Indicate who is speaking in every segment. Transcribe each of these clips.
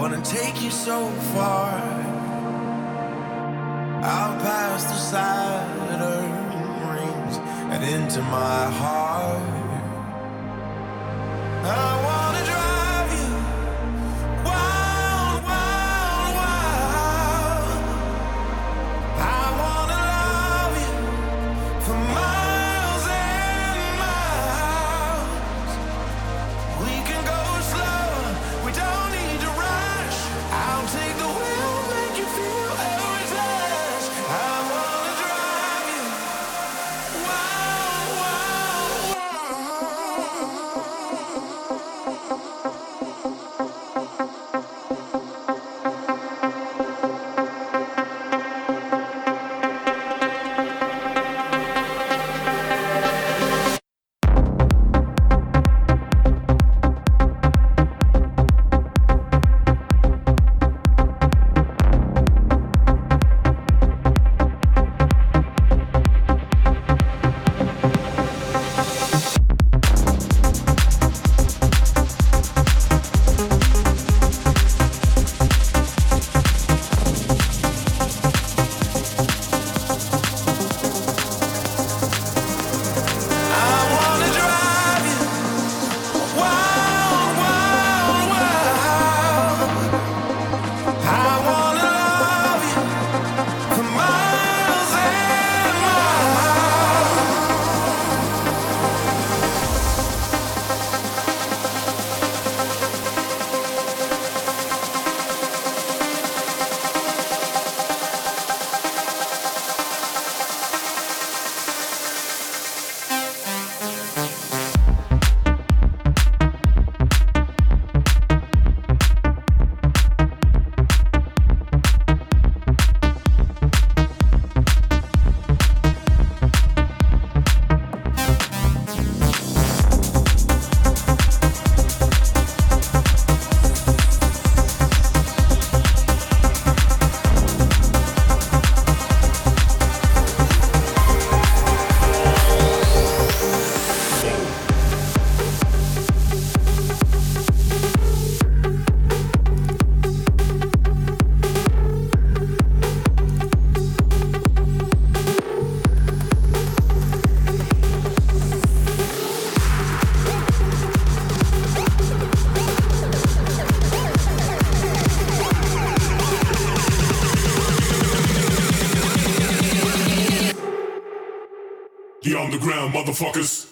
Speaker 1: wanna take you so far out past the Saturn rings and into my heart. I wanna drive you wild, wild, wild. I wanna love you for miles and miles. We can go slow, we don't need to rush. I'll take the wheel, make you feel effortless. I wanna drive you wild, wild,
Speaker 2: The underground motherfuckers.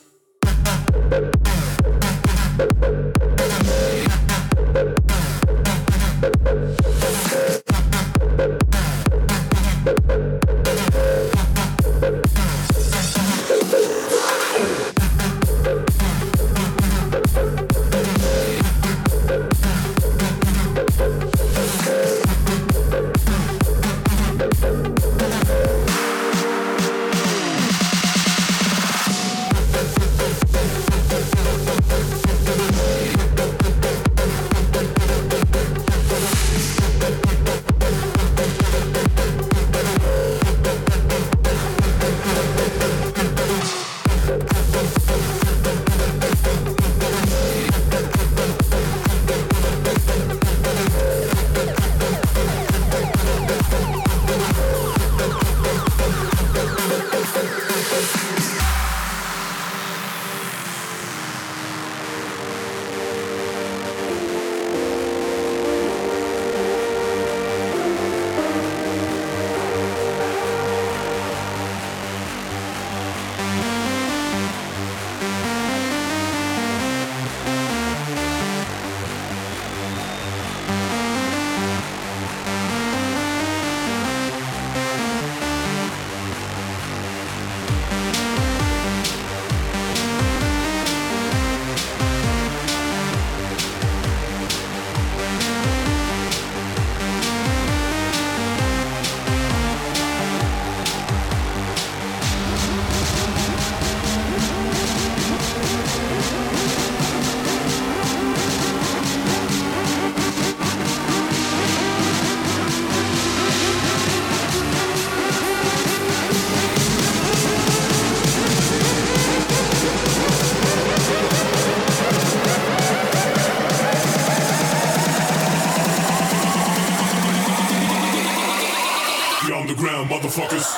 Speaker 2: motherfuckers.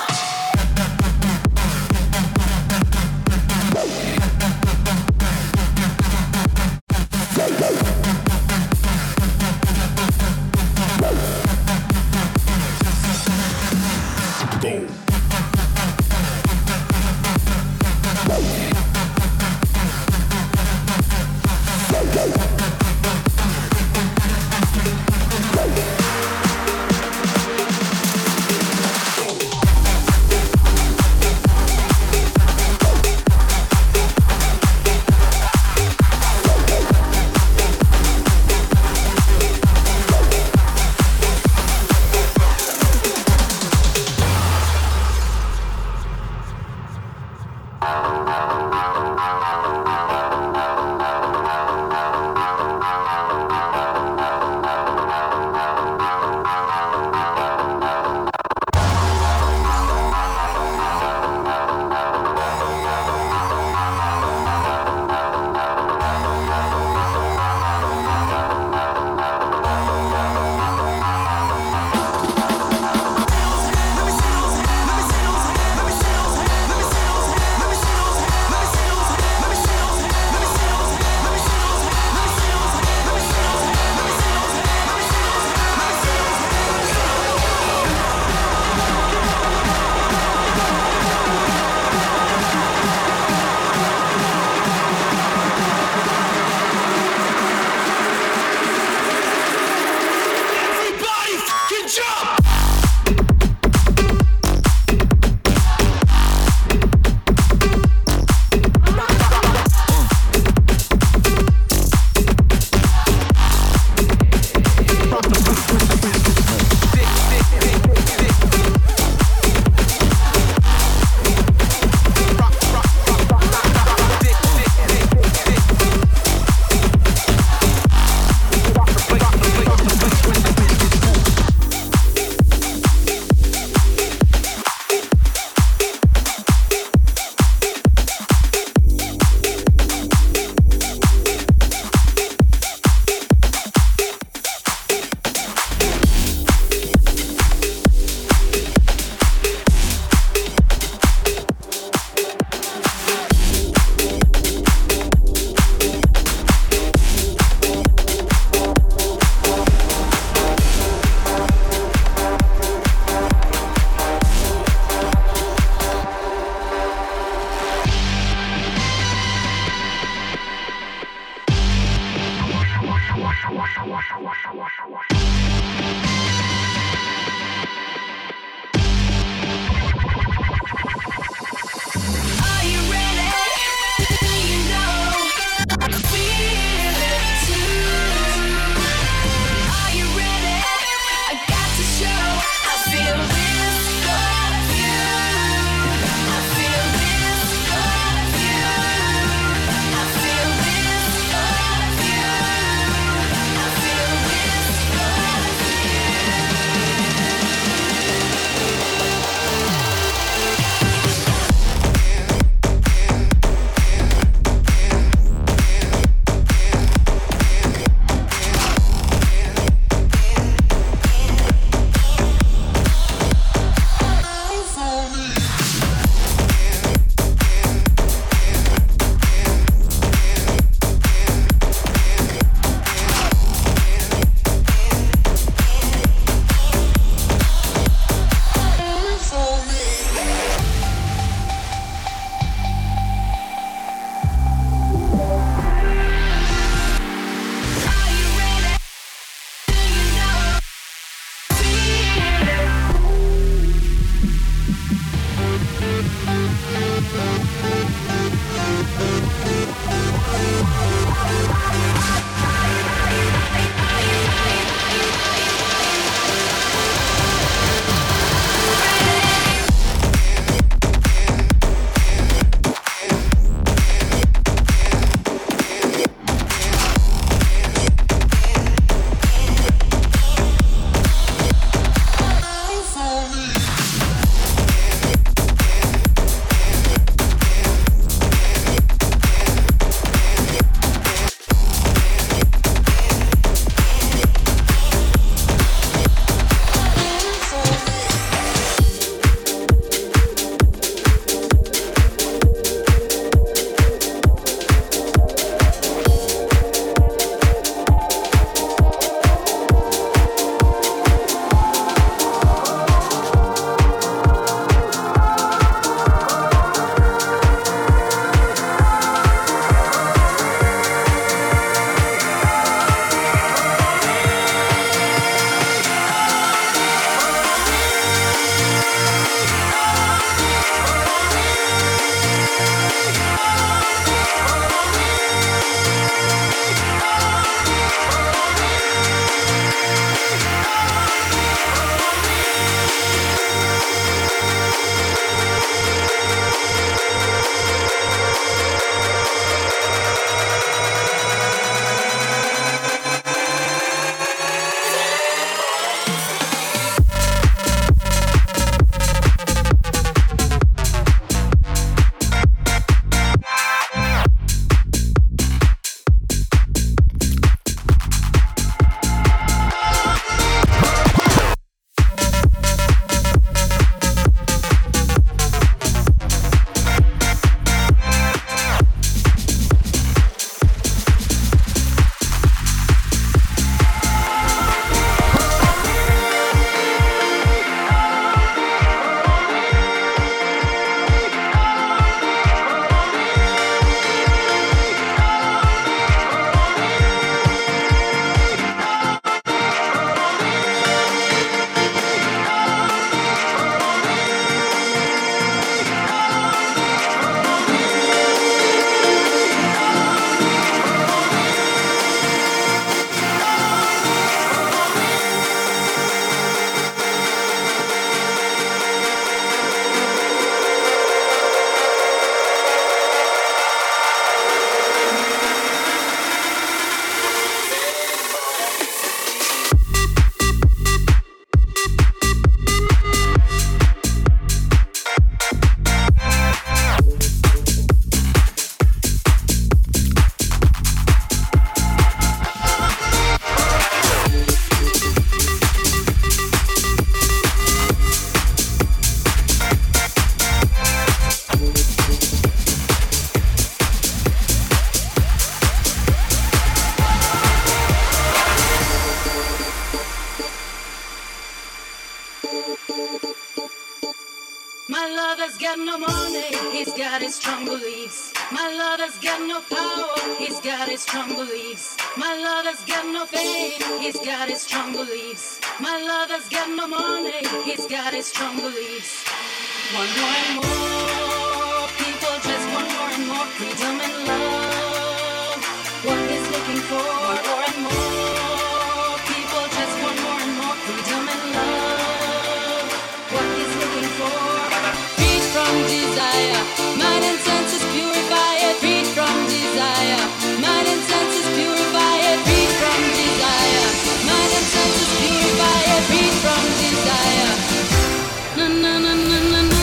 Speaker 3: got no money, he's got his strong beliefs. My lover's got no power, he's got his strong beliefs. My lover's got no fame, he's got his strong beliefs. My lover's got no money, he's got his strong beliefs. Want more and more, people just want more and more freedom and love. What he's looking for, more and more, people just want more and more freedom and love. What he's looking for, free from desire, mind and senses purify it. Free from desire, mind and senses purify it. Free from desire, mind and senses purify it. Free from desire. Na na na na na na.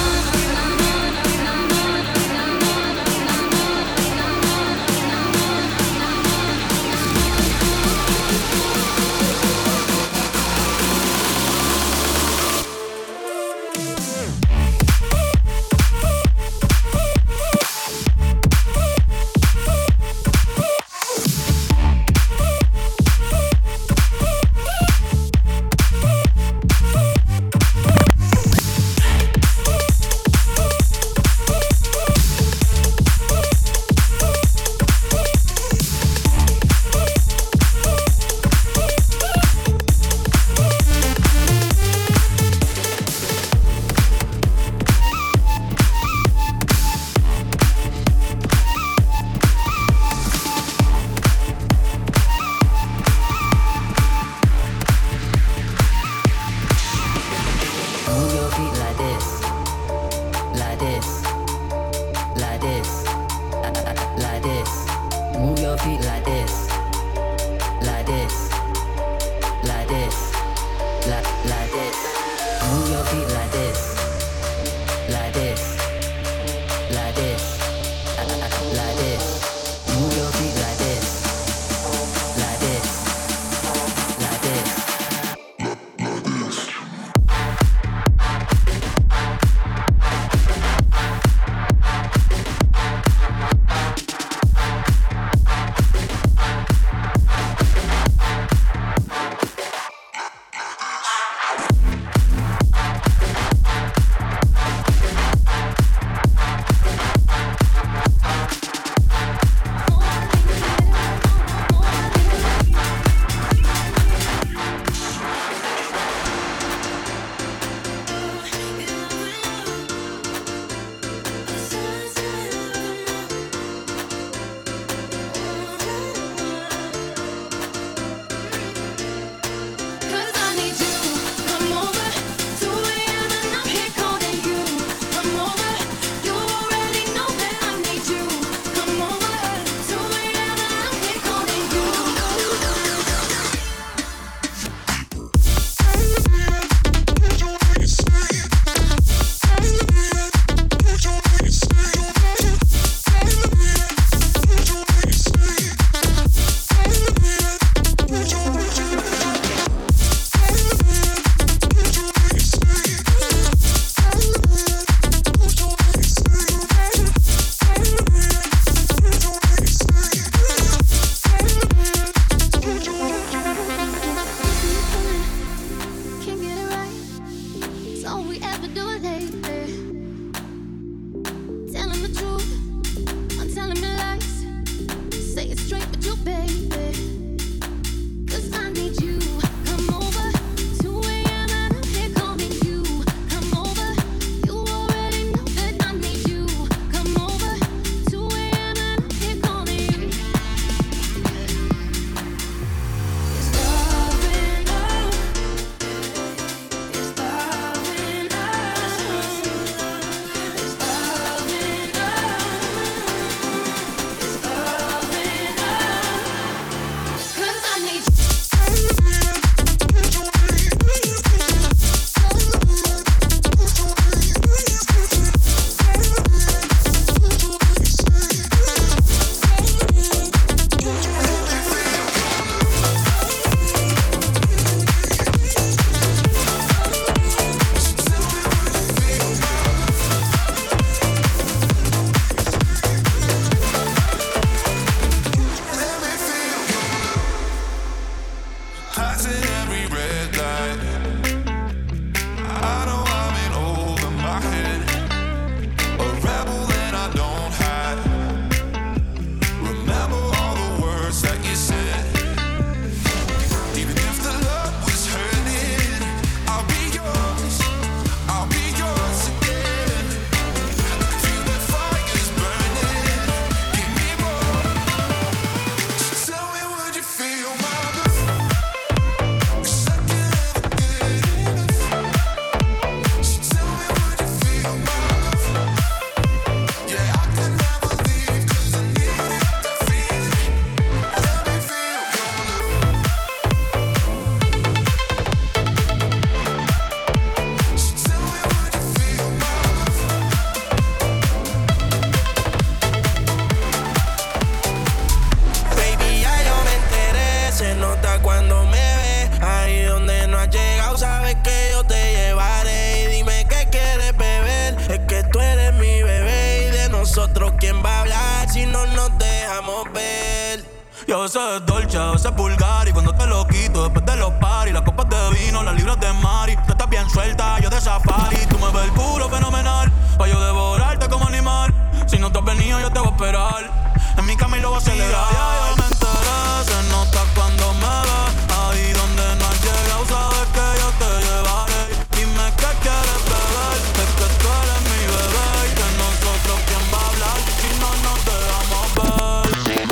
Speaker 1: no nos dejamos ver.
Speaker 4: Y a veces es dolce, a veces es vulgar. Y cuando te lo quito, después de los paris, las copas de vino, las libras de mari. Tú estás bien suelta, yo de safari. Tú me ves el culo fenomenal, pa' yo devorarte como animal. Si no te has venido, yo te voy a esperar. En mi cama y lo voy a acelerar. Ya me enteré, se nota cuando me ves. Ahí donde no has llegado, sabes que yo te llevaré. Dime qué quieres beber, es que tú eres mi bebé. Y de nosotros, ¿quién va a hablar si no nos dejamos ver?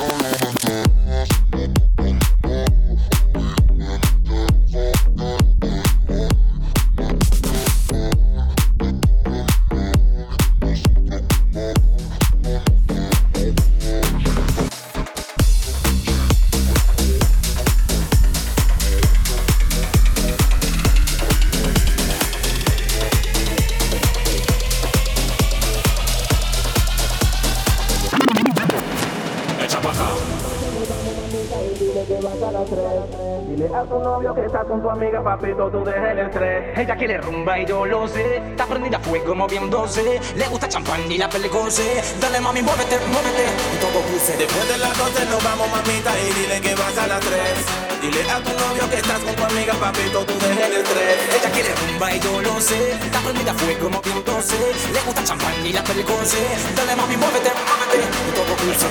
Speaker 5: Dile a tu novio que estás con tu amiga, papito, tú deja el estrés. Ella quiere rumba y yo lo sé. Está prendida a fuego moviéndose. Le gusta champán y la pelicose. Dale mami, muévete, muévete. Y todo puse.
Speaker 1: Después de las 12 nos vamos, mamita, y dile que vas a las 3. Dile a tu novio que estás con tu amiga, papito, tú deja el estrés.
Speaker 5: Ella quiere rumba y yo lo sé. Está prendida a fuego moviéndose. Le gusta champán y la pelicose. Dale mami, muévete, muévete. Y todo puse.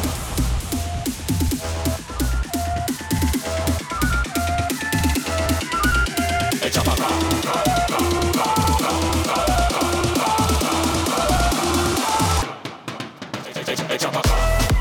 Speaker 2: Echa pa' acá. Echa pa' acá.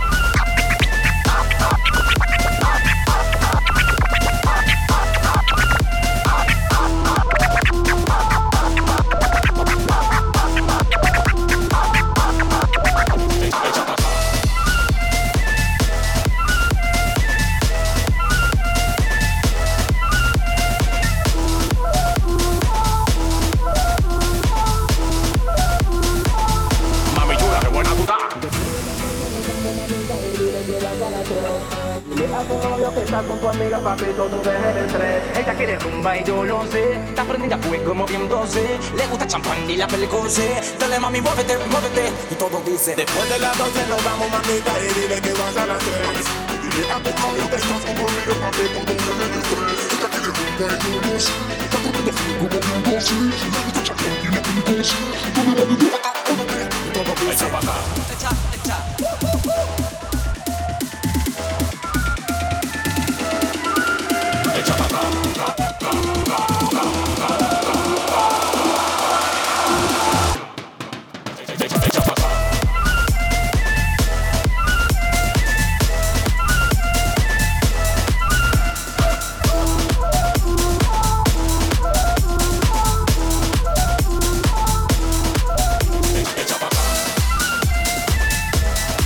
Speaker 5: Con tu amiga, papito, tú deja el estrés. Ella quiere rumba y yo lo sé. Está prendida a fuego moviéndose. Le gusta champán y la pelicose. Dale mami, muévete, muévete. Y todo dice.
Speaker 1: Después de las 12 nos vamos, mamita, y dile que vas a las 3. Dile a tu novio que estás con tu amiga, papito, tú deja el estrés. Ella quiere rumba y yo lo sé. Está prendida a fuego moviéndose. Le gusta champán y la pelicose. Dale mami, muévete, muévete.
Speaker 5: Y todo dice.
Speaker 2: Echa pa' acá.
Speaker 5: Echa, echa.
Speaker 2: Echa pa' acá. Echa pa' acá. Echa pa' acá.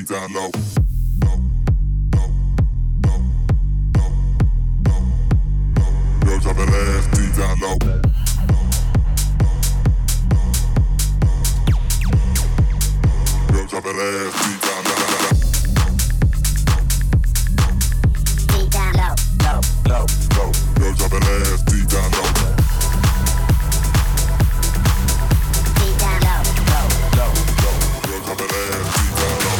Speaker 1: feet down low. Girl, drop that ass, feet down low. Girl, drop that ass, feet down low.
Speaker 6: Feet down low, low, low, low.
Speaker 1: Girl, drop that ass, feet down low.
Speaker 6: Feet down low, low, low, low.
Speaker 1: Girl, drop that ass, feet down low.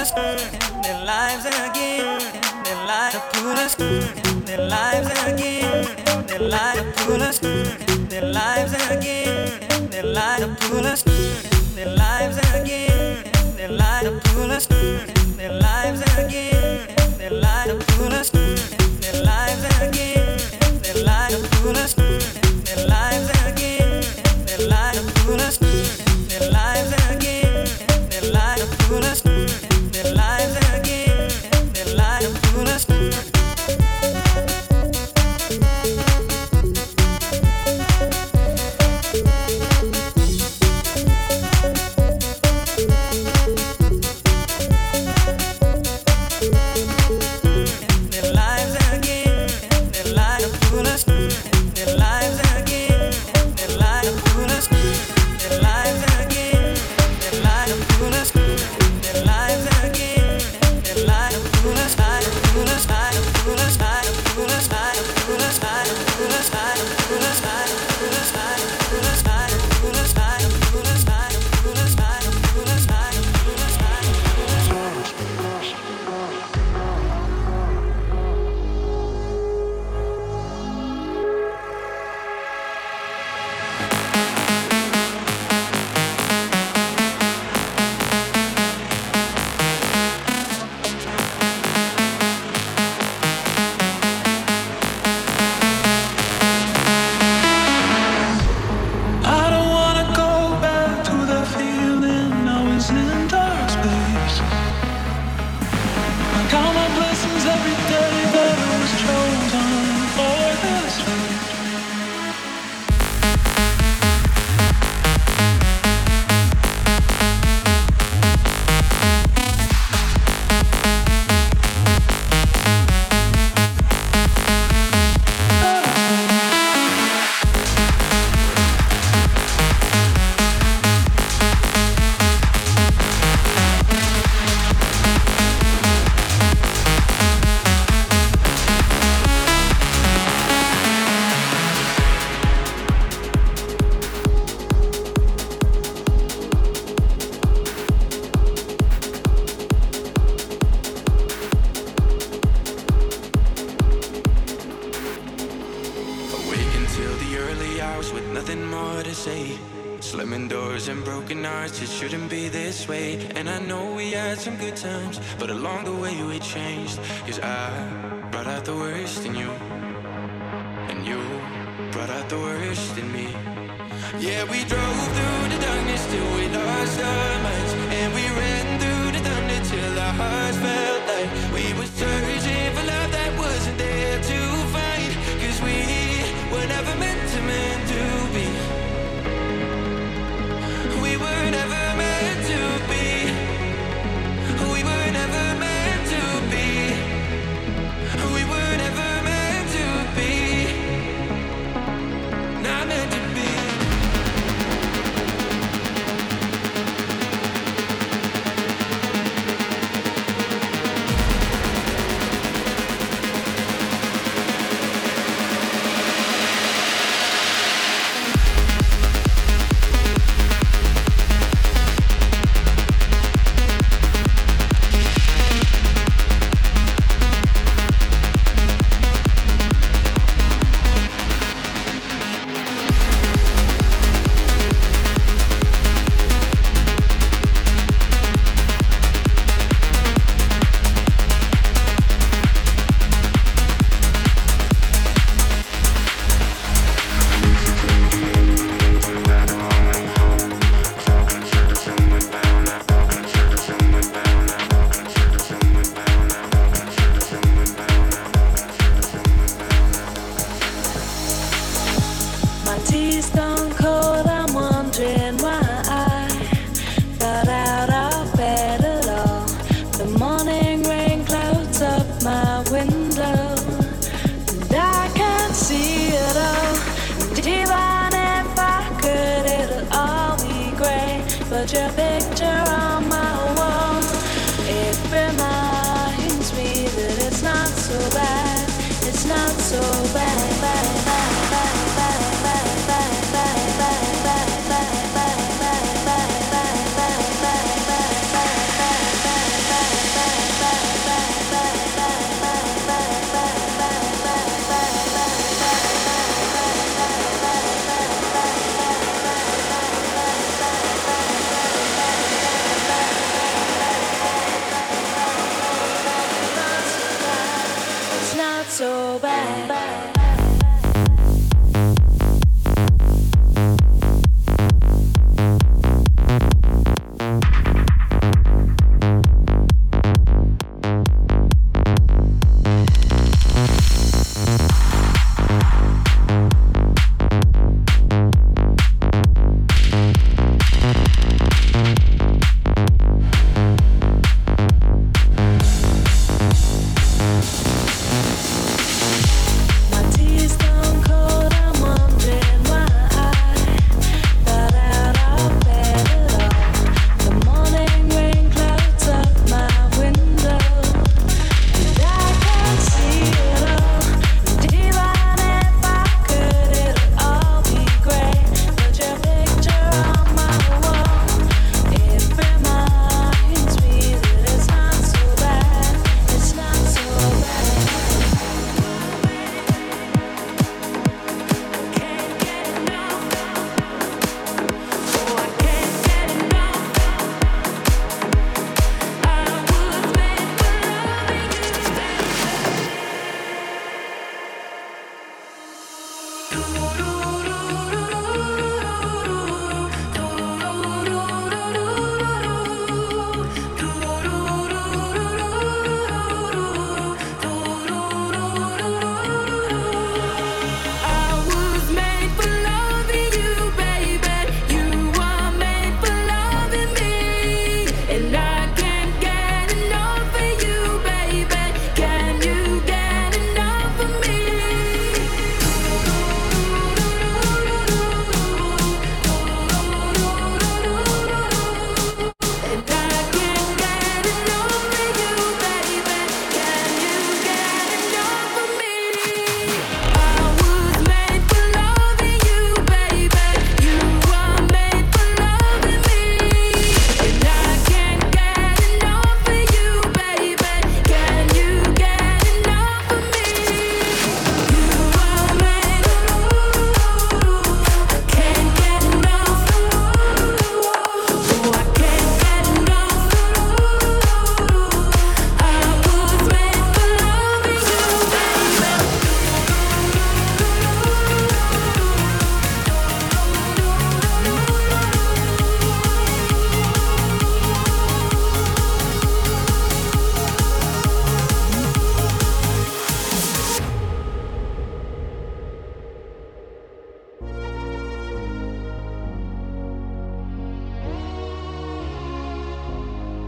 Speaker 4: us, their lives again, their lives pull us, their lives again, their lives pull us, their lives again, their lives pull us, their lives again, their lives pull us, their lives again, their lives pull us, their lives again, their lives pull us, their lives again, their lives pull us, their lives again, their lives pull us, their lives again, their lives pull us.
Speaker 7: But along the way we changed, 'cause I brought out the worst in you, and you brought out the worst in me. Yeah, we drove through the darkness till we lost our minds, and we ran through the thunder till our hearts felt like we were searching for love that wasn't there to find, 'cause we were never meant to be. We were never meant to be. We were never meant to be. We were never meant to be. Not meant to be.
Speaker 8: Put your picture on my wall. It reminds me that it's not so bad. It's not so bad.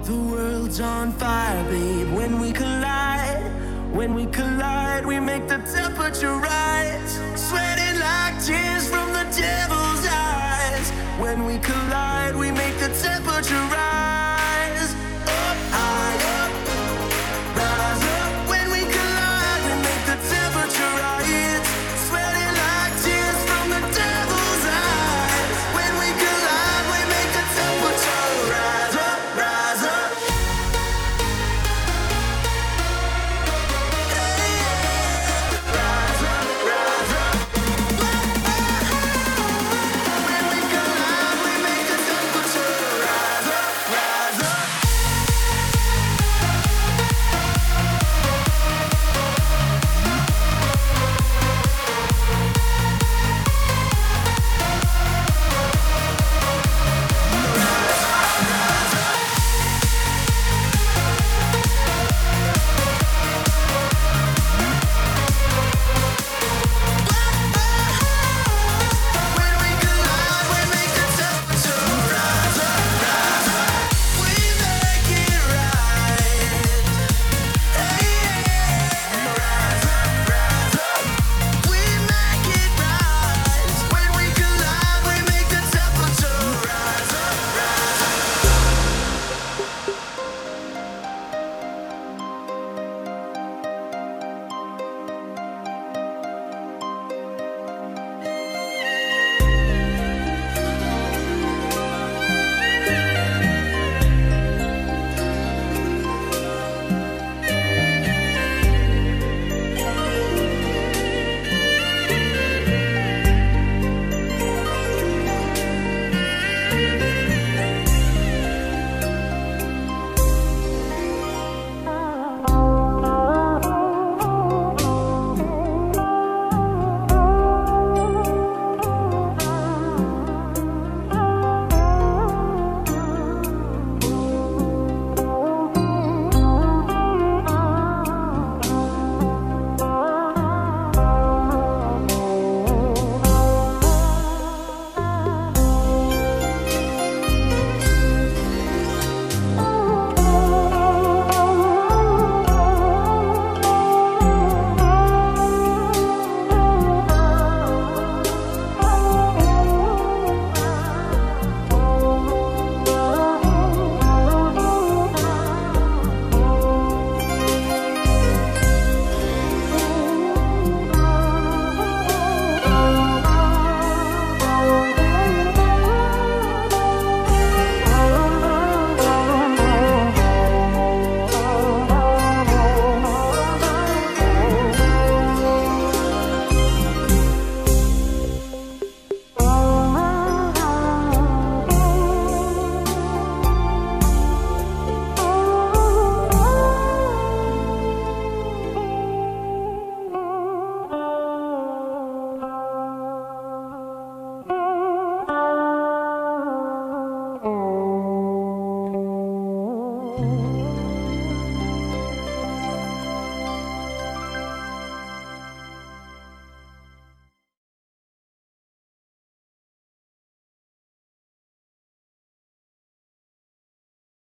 Speaker 9: The world's on fire, babe, when we collide. When we collide, we make the temperature rise. Sweating like tears from the devil's eyes. When we collide, we make the temperature rise.